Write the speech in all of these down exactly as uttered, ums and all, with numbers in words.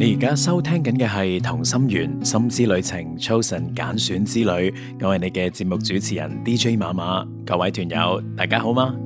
你而家收聽緊嘅係同心圓心之旅程 Chosen 揀選之旅，我係你嘅節目主持人 D J 馬馬。各位團友大家好嗎？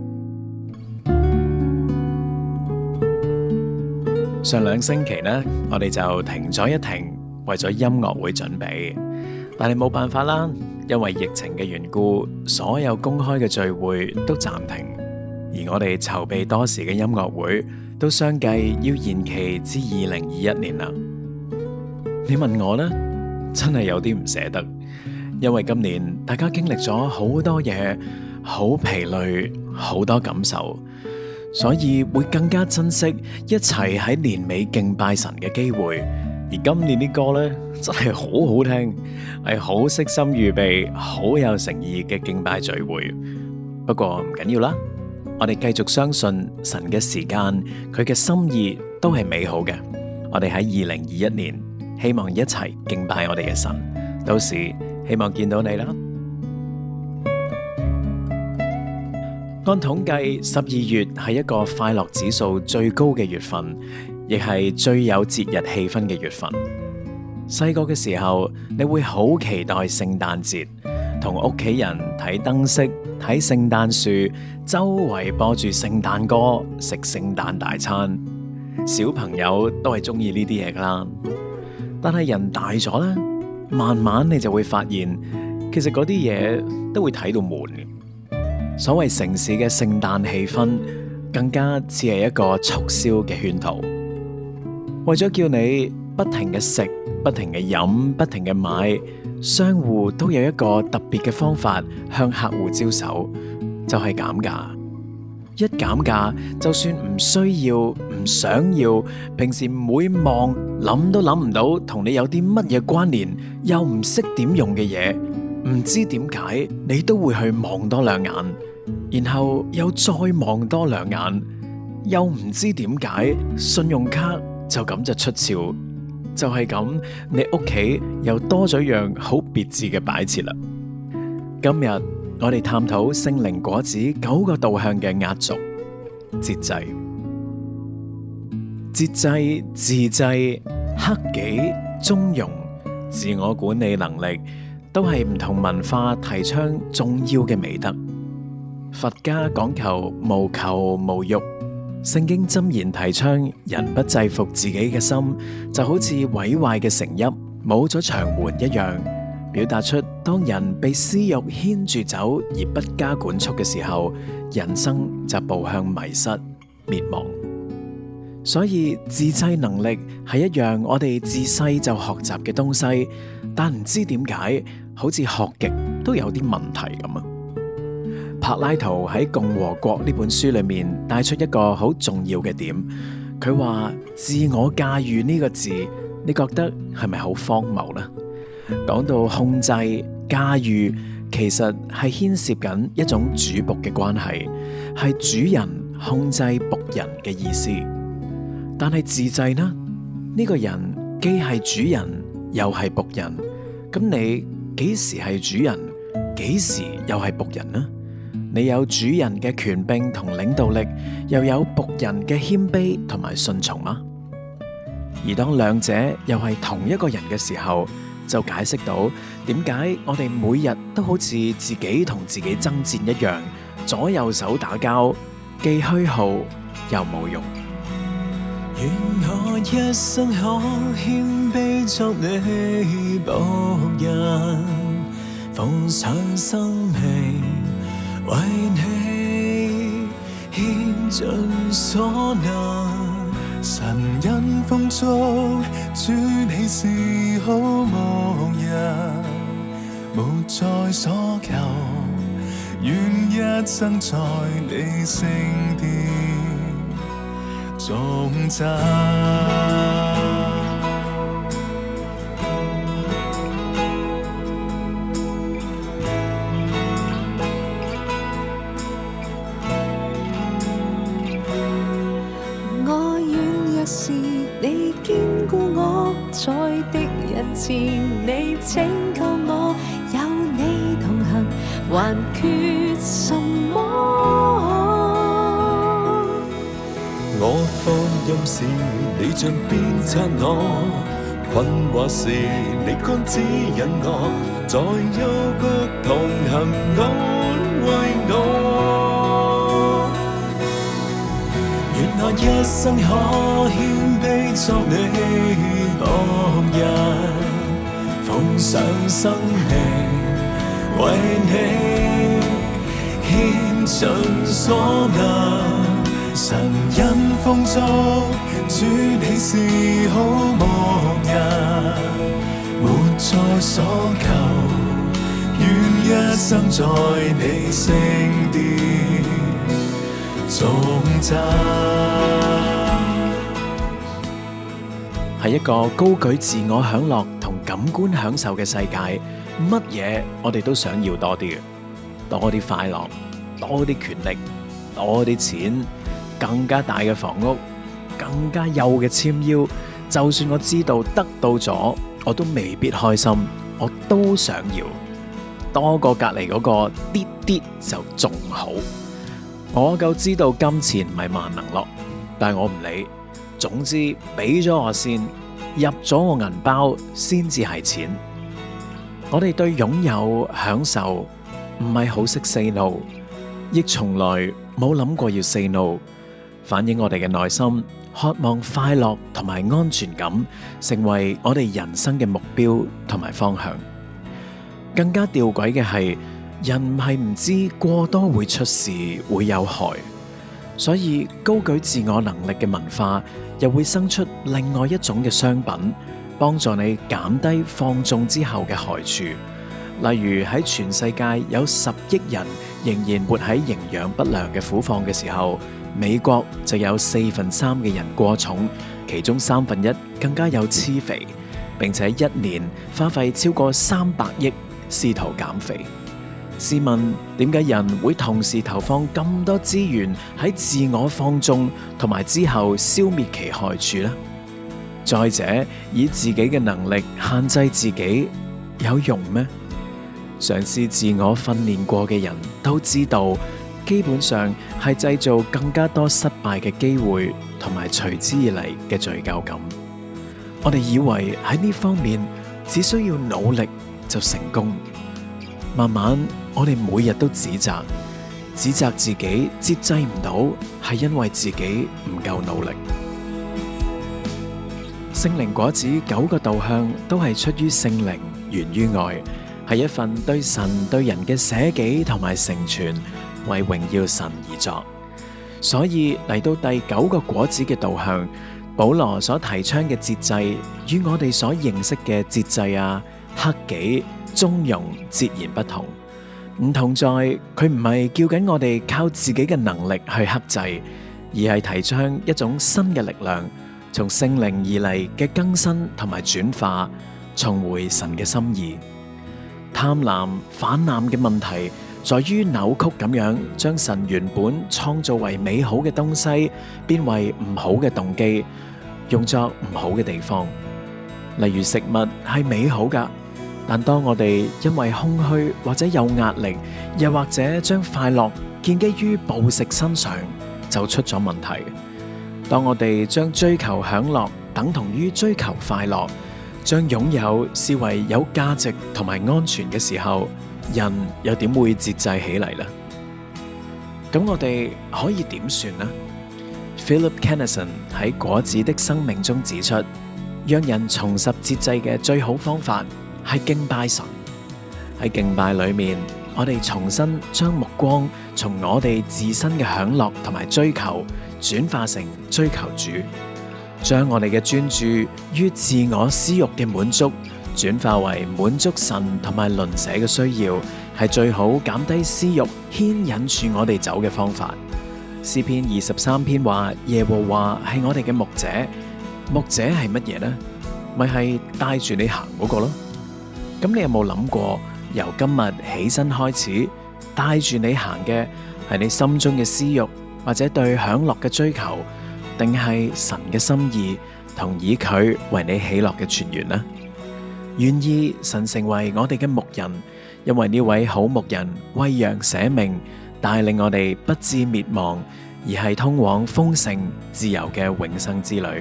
上兩星期呢，我哋就停咗一停，為咗音樂會準備，但係冇辦法啦，因為疫情嘅緣故，所有公開嘅聚會都暫停，而我哋籌備多時嘅音樂會都相繼要延期至二零二一年啦。你問我呢，真係有啲唔捨得，因為今年大家經歷咗好多嘢，好疲累，好多感受，所以會更加珍惜一齊喺年尾敬拜神嘅機會。而今年啲歌呢，真係好好聽，係好悉心預備，好有誠意嘅敬拜聚會。不過唔緊要啦，我哋繼續相信神嘅時間，佢嘅心意都係美好嘅。我哋喺二零二一年，希望一齊敬拜我哋嘅神。到時希望見到你啦。按統計，十二月係一個快樂指數最高嘅月份，亦係最有節日氣氛嘅月份。細個嘅時候，你會好期待聖誕節，同屋企人睇燈飾、睇聖誕樹，周圍播住聖誕歌，食聖誕大餐。小朋友都係中意呢啲嘢噶啦。但係人大咗咧，慢慢你就會發現，其實嗰啲嘢都會睇到悶嘅。所謂城市嘅聖誕氣氛，更加似係一個促銷嘅圈套，為咗叫你不停嘅食、不停嘅飲、不停嘅買，商戶都有一個特別嘅方法向客戶招手，就係減價。一減價，就算唔需要、唔想要，平時唔會望、諗都諗唔到同你有啲乜嘢關聯，又唔識點用嘅嘢，唔知點解你都會去望多兩眼，然後又再望多兩眼，又唔知點解信用卡就咁就出鞘，就係咁，你屋企又多咗樣好別致嘅擺設啦。今日我哋探討聖靈果子九個導向嘅壓軸節制、節制、自制、克己、中庸、自我管理能力，都係唔同文化提倡重要嘅美德。佛家講求無求無欲，聖經箴言提倡人不制服自己嘅心，就好似毀壞嘅城邑冇咗牆垣一樣，表達出當人被私欲牽住走而不加管束嘅時候，人生就步向迷失滅亡。所以自制能力係一樣我哋自細就學習嘅東西，但唔知點解好似學極都有啲問題咁啊。柏拉圖喺《共和國》呢本書裏面帶出一個好重要嘅點，佢話自我駕馭呢個字，你覺得係咪好荒謬呢？講到控制、駕馭，其實係牽涉緊一種主僕嘅關係，係主人控制僕人嘅意思。但係自制呢？呢個人既係主人又係僕人，咁你幾時係主人，幾時又係僕人呢？你有主人嘅權柄同領導力，又有僕人嘅謙卑同埋順從嗎？而當兩者又係同一個人嘅時候，就解釋到點解我哋每日都好似自己同自己爭戰一樣，左右手打交，既虛耗又冇用。 願我一生可謙卑作你僕人，奉上生命為你獻盡所能。神恩豐足，主你是好牧人，無在所求，願一生在你聖殿頌讚。 我軟弱時你堅固我，在敵人前你拯救我，有你同行還缺什麼？ 我服任時你像鞭策我，困惑時你剛指引我，在幽谷同行安慰我。願我一生可謙卑作你僕人，奉上生命為你獻盡所能。神因豐足，主你是好牧人，沒再所求，願一生在你聖殿頌讚。 係一個高舉自我享樂同感官享受嘅世界，乜嘢我哋都想要多啲嘅，多啲快樂，多啲權力，多啲錢，更加大嘅房屋，更加幼嘅纖腰。就算我知道得到咗，我都未必開心，我都想要多過隔籬嗰個啲啲就仲好。我夠知道金錢唔係萬能咯，但係我唔理，總之俾咗我先，入咗我銀包先至係錢。我哋對擁有享受唔係好識 say no， 亦從來冇諗過要 say no。反映我哋嘅內心渴望快樂同埋安全感，成為我哋人生嘅目標同埋方向。更加吊詭嘅係，人唔係唔知過多會出事，會有害，所以高舉自我能力嘅文化又會生出另外一種嘅商品，幫助你減低放縱之後嘅害處。例如喺全世界有十億人仍然活喺營養不良嘅苦況嘅時候，美國就有四分三嘅人過重，其中三分一更加有癡肥，並且一年花費超過三百億試圖減肥。試問點解人會同時投放咁多資源喺自我放縱同埋之後消滅其害處呢？再者，以自己嘅能力限制自己有用咩？嘗試自我訓練過嘅人都知道，基本上係製造更加多失敗嘅機會，同埋隨之而嚟嘅罪疚感。我哋以為喺呢方面只需要努力就成功，慢慢我哋每日都指責，指責自己節制唔到，係因為自己唔夠努力。聖靈果子九個導向都係出於聖靈，源於愛，係一份對神對人嘅捨己同埋成全，為榮耀神而作。所以嚟到第九個果子嘅導向，保羅所提倡嘅節制，與我哋所認識嘅節制啊、克己、中庸截然不同。唔同在佢唔係叫緊我哋靠自己嘅能力去克制，而係提倡一種新嘅力量，從聖靈而嚟嘅更新同埋轉化，重回神嘅心意。貪婪泛濫嘅問題在於扭曲咁樣將神原本創造為美好嘅東西變為唔好嘅動機，用作唔好嘅地方。例如食物係美好噶，但當我哋因為空虛或者有壓力，又或者將快樂建基於暴食身上，就出咗問題。當我哋將追求享樂等同於追求快樂，將擁有視為有價值同埋安全嘅時候，人又點會節制起嚟呢？咁我哋可以點算呢？ Philip Kennison 喺《果子的生命》中指出，讓人重拾節制嘅最好方法係敬拜神。喺敬拜裏面，我哋重新將目光從我哋自身嘅享樂同埋追求轉化成追求主，將我哋嘅專注於自我私欲嘅滿足轉化為滿足神同埋鄰舍嘅需要，係最好減低私欲牽引住我哋走嘅方法。詩篇二十三篇話，耶和華係我哋嘅牧者。牧者係乜嘢呢？咪係帶住你行嗰個咯。咁你有冇諗過，由今日起身開始，帶住你行嘅係你心中嘅私欲，或者對享樂嘅追求，定係神嘅心意同以佢為你喜樂嘅泉源呢？願意神成為我哋嘅牧人，因為呢位好牧人為羊捨命，帶領我哋不至滅亡， 而係通往豐盛自由嘅永生之旅。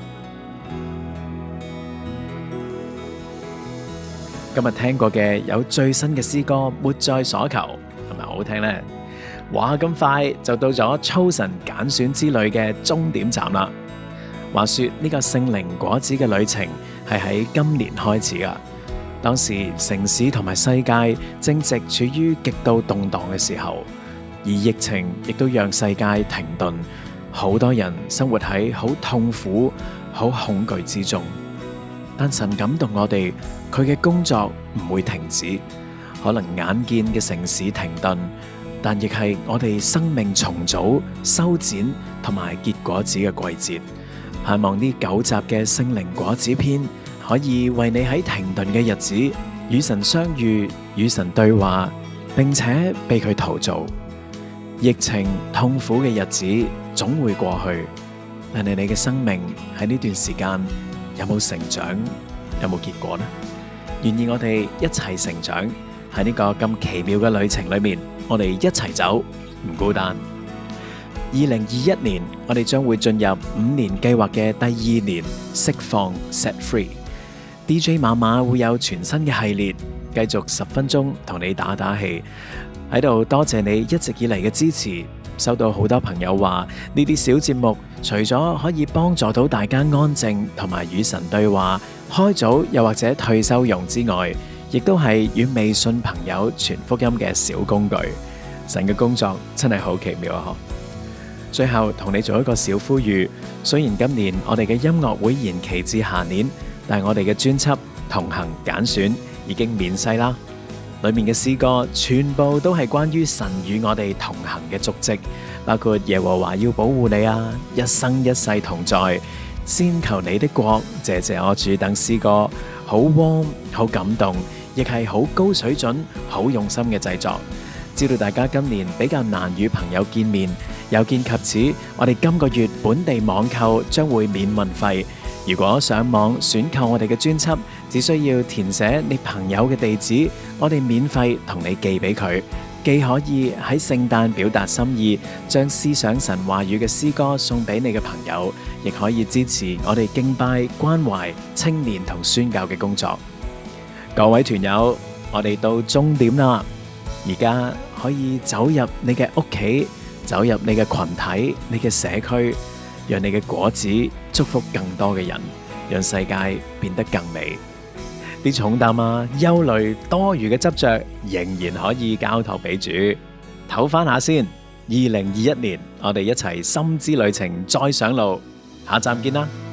今日聽過嘅有最新嘅詩歌《沒在所求》，係咪好聽呢？哇！咁快就到咗操神揀選之旅嘅終點站啦。話說呢個聖靈果子嘅旅程係喺今年開始噶。當時城市同埋世界正值處於極度動盪嘅時候，而疫情亦都讓世界停頓，好多人生活喺好痛苦、好恐懼之中。但神感動我哋，佢嘅工作唔會停止。可能眼見嘅城市停頓，但亦係我哋生命重組、修剪同埋結果子嘅季節。盼望呢九集嘅聖靈果子篇，可以為你喺停頓嘅日子與神相遇、與神對話，並且被佢陶造。疫情痛苦嘅日子總會過去，但係你嘅生命喺呢段時間有冇成長，有冇結果呢？願意我哋一齊成長，喺呢個咁奇妙嘅旅程裏面，我哋一齊走，唔孤單。二零二一年，我哋將會進入五年計劃嘅第二年，釋放 Set Free。D J 馬馬會有全新嘅系列，繼續十分鐘同你打打氣。喺度多謝你一直以嚟嘅支持。收到好多朋友話呢啲小節目除咗可以幫助到大家安靜同埋與神對話、開組又或者退休用之外，亦都係與微信朋友傳福音嘅小工具。神嘅工作真係好奇妙啊！最後同你做一個小呼籲，雖然今年我哋嘅音樂會延期至下年，但係我哋嘅專輯同行揀選已經面世啦。裏面嘅詩歌全部都係關於神與我哋同行嘅足跡，包括耶和華要保護你啊，一生一世同在，先求你的國，謝謝我主等詩歌，好 warm 好感動，亦係好高水準、好用心嘅製作。知道大家今年比較難與朋友見面，有見及此，我哋今個月本地網購將會免運費。如果上網選購我哋嘅專輯，只需要填寫你朋友嘅地址，我哋免費同你寄俾佢。既可以喺聖誕表達心意，將思想神話語嘅詩歌送俾你嘅朋友，亦可以支持我哋敬拜、關懷青年同宣教嘅工作。各位團友，我哋到終點啦，而家可以走入你嘅屋企，走入你嘅群體、你嘅社區，讓你嘅果子祝福更多嘅人，讓世界變得更美。啲重擔啊、憂慮、多餘嘅執着，仍然可以交託俾主。唞翻下先。二零二一年，我哋一齊心之旅程再上路，下站見啦！